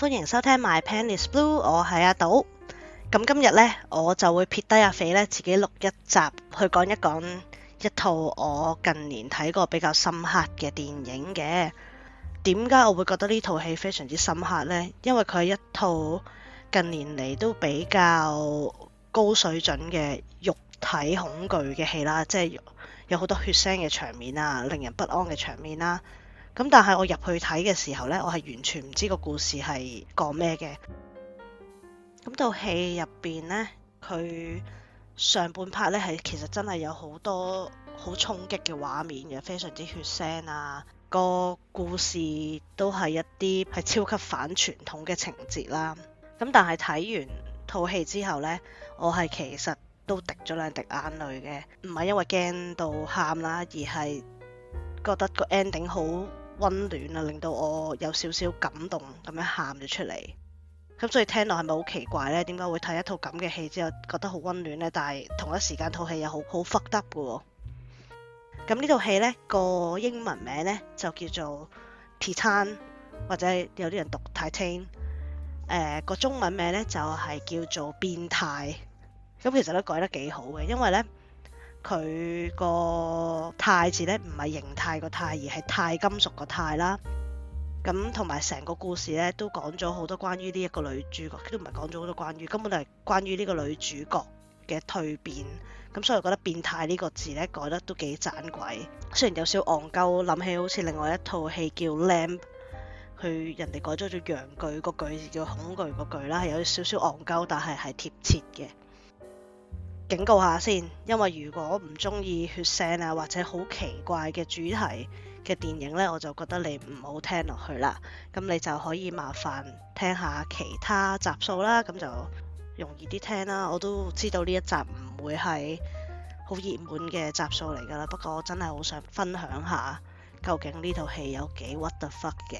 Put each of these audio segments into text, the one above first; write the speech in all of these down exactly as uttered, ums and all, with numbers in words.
歡迎收聽 My Pen is Blue， 我係阿島。咁今日呢，我就會撇低阿肥呢，自己錄一集去講一講一套我近年睇過比較深刻嘅電影嘅。點解我會覺得呢套戲非常之深刻呢？因為佢係一套近年嚟都比較高水準嘅肉體恐懼嘅戲啦，即係有好多血腥嘅場面啊，令人不安嘅場面啦。咁但係我入去睇嘅時候呢，我係完全唔知個故事係講咩嘅。咁套戲入邊呢，佢上半 part 呢係其實真係有好多好衝擊嘅畫面嘅，非常之血腥啊。個故事都係一啲係超級反傳統嘅情節啦。咁但係睇完套戲之後呢，我係其實都滴咗兩滴眼淚嘅，唔係因為驚到喊啦，而係覺得個 ending 好溫暖啊，令到我有少少感動咁樣喊咗出嚟。咁所以聽落係咪好奇怪呢？點解會睇一套咁嘅戲之後覺得好溫暖呢？但係同一時間套戲又好好 fucked up 嘅喎。咁呢套戲呢個英文名呢就叫做 Titan， 或者有啲人讀 Titan。誒個中文名呢就係叫做變態。咁其實都改得幾好嘅，因為呢佢個鈦字呢唔係形態個鈦，而係鈦金屬個鈦啦。咁同埋成個故事呢都講咗好多關於呢一個女主角，都唔係講咗好多關於，根本就係關於呢個女主角嘅蛻變。咁所以我覺得變態呢個字呢改得都幾盞鬼，雖然有少戇鳩，諗起好似另外一套戲叫 Lamb， 佢人哋改咗做陽具，個句字叫恐懼個句啦，係有少少戇鳩，但係係貼切嘅。警告下先，因為如果唔中意血腥啊或者好奇怪嘅主題嘅電影呢，我就覺得你唔好聽落去啦。咁你就可以麻煩聽下其他集數啦，咁就容易啲聽啦。我都知道呢一集唔會係好熱門嘅集數嚟噶啦，不過我真係好想分享下究竟呢套戲有幾 what the fuck 嘅。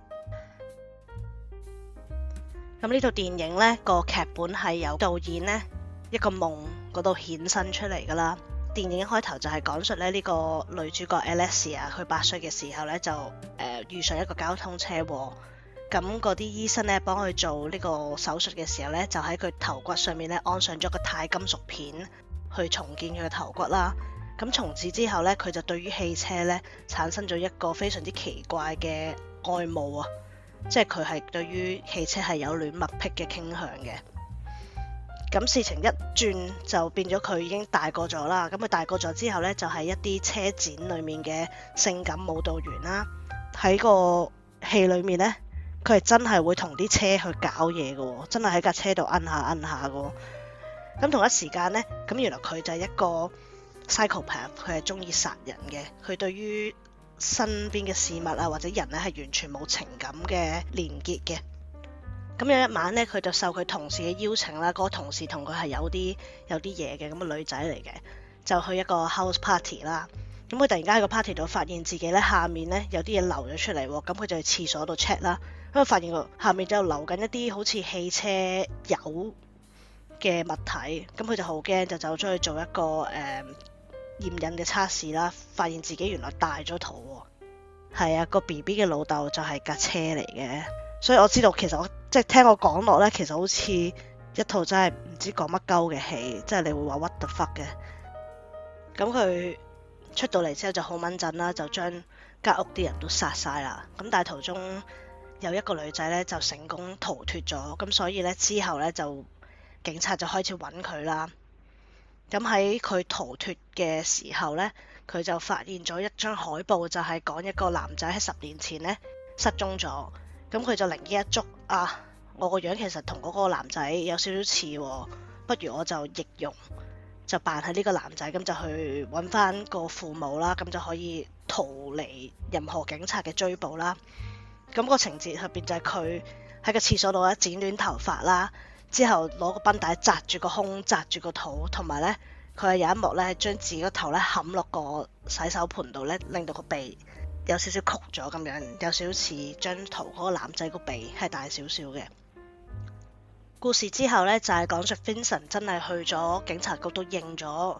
咁呢套電影呢個劇本係由導演呢一個夢嗰度衍生出嚟噶啦。電影一開頭就係講述咧呢個女主角 Alexia， 佢八歲嘅時候咧就誒、呃、遇上一個交通車禍，咁嗰啲醫生咧幫佢做呢個手術嘅時候咧，就喺佢頭骨上面咧安上咗個鈦金屬片去重建佢嘅頭骨啦。咁從此之後咧，佢就對於汽車咧產生咗一個非常之奇怪嘅愛慕啊，即係佢係對於汽車係有戀物癖嘅傾向嘅。咁事情一轉就變咗佢已經大個咗啦。咁佢大個咗之後呢，就係一啲車展裏面嘅性感舞蹈員啦。喺個戲裏面呢，佢係真係會同啲車去搞嘢嘅，真係喺架車度摁下摁下嘅。咁同一時間呢，咁原來佢就係一個 psychopath， 佢係中意殺人嘅。佢對於身邊嘅事物啊或者人呢係完全冇情感嘅連結嘅。咁有一晚咧，佢就受佢同事嘅邀請啦，嗰個同事同佢係有啲有啲嘢嘅，咁個女仔嚟嘅，就去一個 house party 啦。咁佢突然間喺個 party 度發現自己咧下面咧有啲嘢流咗出嚟喎，咁佢就去廁所度 check 啦，咁佢發現個下面就流緊一啲好似汽車油嘅物體，咁佢就好驚，就走咗去做一個誒、呃、驗孕嘅測試啦，發現自己原來大咗肚喎。係啊，個 B B 嘅老豆就係架車嚟嘅。所以我知道其實我即係聽我講落咧，其實好似一套真係唔知講乜鳩嘅戲，即係你會話 what the fuck 嘅。咁佢出到嚟之後就好掹陣啦，就將間屋啲人都殺晒啦。咁但係途中有一個女仔咧就成功逃脫咗，咁所以咧之後咧就警察就開始揾佢啦。咁喺佢逃脫嘅時候咧，佢就發現咗一張海報，就係講一個男仔喺十年前咧失蹤咗。咁佢就靈機一觸啊！我個樣其實同嗰個男仔有少少似喎，不如我就易容，就扮係呢個男仔，咁就去揾翻個父母啦，咁就可以逃離任何警察嘅追捕啦。咁個情節入邊就係佢喺個廁所度咧剪短頭髮啦，之後攞個繃帶紮住個胸、紮住個肚，同埋咧佢係有一幕咧將自己個頭咧冚落個洗手盆度咧，令到個鼻有少少曲咗咁樣，有少少似張圖嗰個男仔個鼻係大少少嘅。故事之後呢，就係、是、講述 Vincent 真係去咗警察局度認咗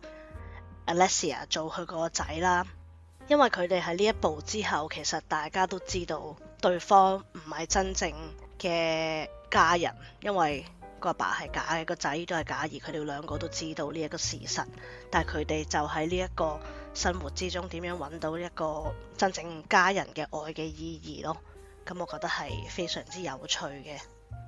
Alexia 做佢個仔啦。因為佢哋喺呢一步之後，其實大家都知道對方唔係真正嘅家人，因為個阿爸係假嘅，個仔都係假，而佢哋兩個都知道呢一個事實，但係佢哋就喺呢一個生活之中點樣揾到一個真正家人嘅愛嘅意義咯。咁我覺得係非常之有趣嘅。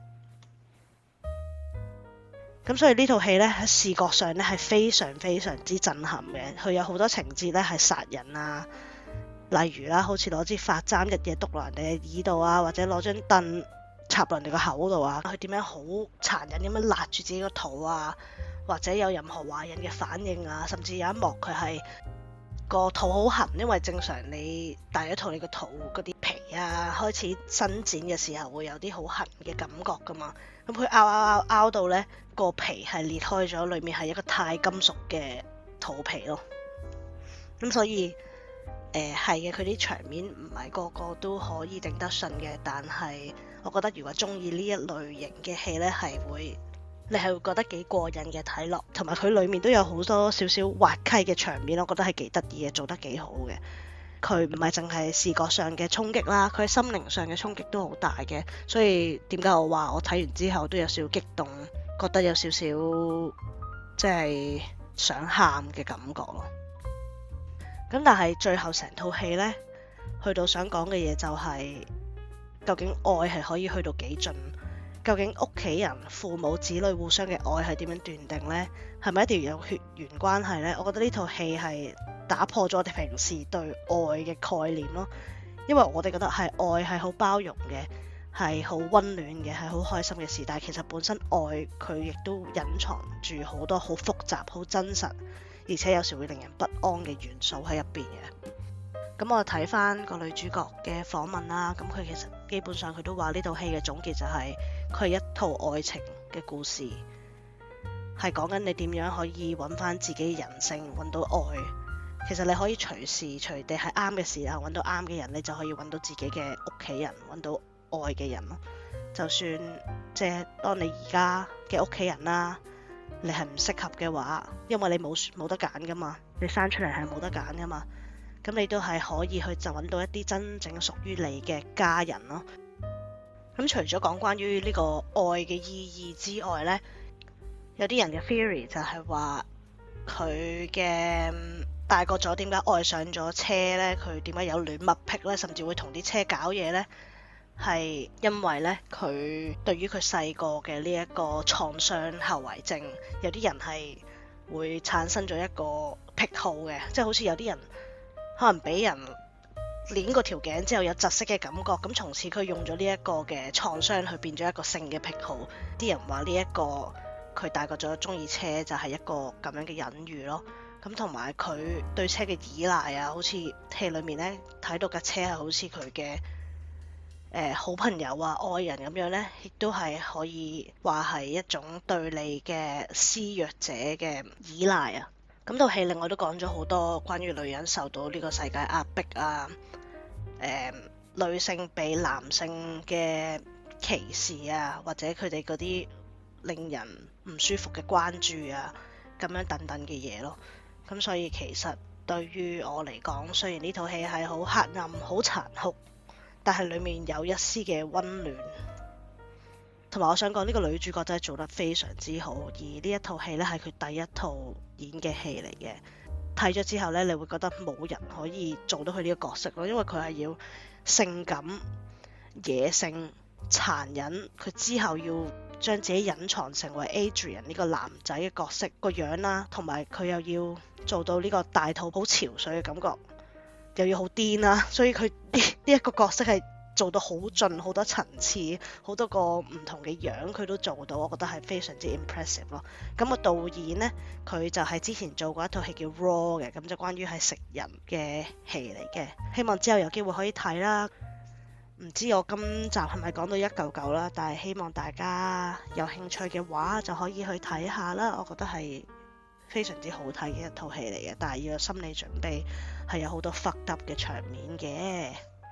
咁所以呢套戲呢，喺視覺上呢係非常非常之震撼嘅，佢有好多情節呢係殺人啊，例如啦，好似攞支髮簪日夜篤落人哋嘅耳度啊，或者攞張凳插落人哋個口度啊，佢點樣好殘忍咁樣勒住自己個肚啊，或者有任何懷孕嘅反應啊，甚至有一幕佢係個肚好痕，因為正常你大咗肚，你個肚嗰啲皮啊開始伸展嘅時候會有啲好痕嘅感覺噶嘛，咁佢拗拗拗拗到呢個皮係裂開咗，裡面係一個鈦金屬嘅肚皮咯。咁所以誒係嘅，佢啲場面唔係個個都可以頂得順嘅，但係我覺得如果中意呢一類型嘅戲呢，係會你係會覺得幾過癮嘅睇落，同埋佢裡面都有好多少少滑稽嘅場面，我覺得係幾得意嘅，做得幾好嘅。佢唔係淨係視覺上嘅衝擊啦，佢喺心靈上嘅衝擊都好大嘅，所以點解我話我睇完之後都有少少激動，覺得有少少即係想喊嘅感覺咯。咁但係最後成套戲呢，去到想講嘅嘢就係、是、究竟愛係可以去到幾盡？究竟屋企人、父母、子女互相嘅愛係點樣斷定呢？係咪一定要有血緣關係呢？我覺得呢套戲係打破咗我哋平時對愛嘅概念咯。因為我哋覺得係愛係好包容嘅，係好溫暖嘅，係好開心嘅事。但係其實本身愛佢亦都隱藏住好多好複雜、好真實，而且有時會令人不安嘅元素喺入邊嘅。咁我睇翻個女主角嘅訪問啦，咁佢其實基本上佢都話呢套戲嘅總結就係佢係一套愛情嘅故事，係講緊你點樣可以揾翻自己人性，揾到愛。其實你可以隨時隨地喺啱嘅時候揾到啱嘅人，你就可以揾到自己嘅屋企人，揾到愛嘅人咯。就算即係當你而家嘅屋企人啦，你係唔適合嘅話，因為你冇冇得揀噶嘛，你生出嚟係冇得揀噶嘛。咁你都係可以去就揾到一啲真正屬於你嘅家人咯。咁除咗講關於呢個愛嘅意義之外呢，有啲人嘅 theory 就係話佢嘅大個咗點解愛上咗車呢？佢點解有戀物癖呢？甚至會同啲車搞嘢呢？係因為呢，佢對於佢細個嘅呢一個創傷後遺症，有啲人係會產生咗一個癖好嘅，即係好似有啲人可能俾人捏過條頸之後有窒息嘅感覺，咁從此佢用咗呢一個嘅創傷去變咗一個性嘅癖好。啲人話呢一個佢大個咗中意車就係一個咁樣嘅隱喻咯。咁同埋佢對車嘅依賴啊，好似戲裡面呢睇到架車係好似佢嘅誒好朋友啊、愛人咁樣呢，亦都係可以話係一種對你嘅施虐者嘅依賴啊。咁套戲另外都講咗好多關於女人受到呢個世界壓迫啊，誒、呃、女性被男性嘅歧視啊，或者佢哋嗰啲令人唔舒服嘅關注啊，咁樣等等嘅嘢咯。咁所以其實對於我嚟講，雖然呢套戲係好黑暗、好殘酷，但係裡面有一絲嘅溫暖。同埋我想講呢個女主角真係做得非常之好，而呢一套戲呢係佢第一套演嘅戲嚟嘅。睇咗之後呢，你會覺得冇人可以做到佢呢個角色咯，因為佢係要性感、野性、殘忍，佢之後要將自己隱藏成為 Adrian 呢個男仔嘅角色個樣啦，同埋佢又要做到呢個大肚好潮水嘅感覺，又要好癲啦，所以佢呢呢一個角色係做到好盡，好多層次，好多個唔同嘅樣佢都做到，我覺得係非常之 impressive 咯。咁個導演呢，佢就係之前做過一套戲叫 Raw 嘅，咁就關於係食人嘅戲嚟嘅，希望之後有機會可以睇啦。唔知我今集係咪講到一嚿嚿啦，但係希望大家有興趣嘅話就可以去睇下啦。我覺得係非常之好睇嘅一套戲嚟嘅，但係要有心理準備，係有好多 fucked up 嘅場面嘅。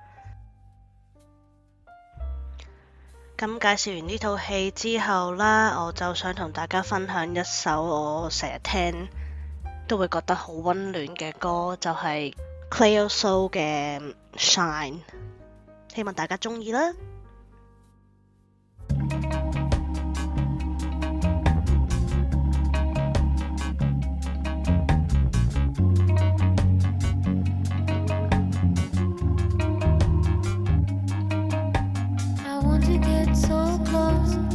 咁介紹完呢套戲之後啦，我就想同大家分享一首我成日聽都會覺得好溫暖嘅歌，就係 Cleo Sol 嘅 Shine。 希望大家鍾意啦。 I want to get so close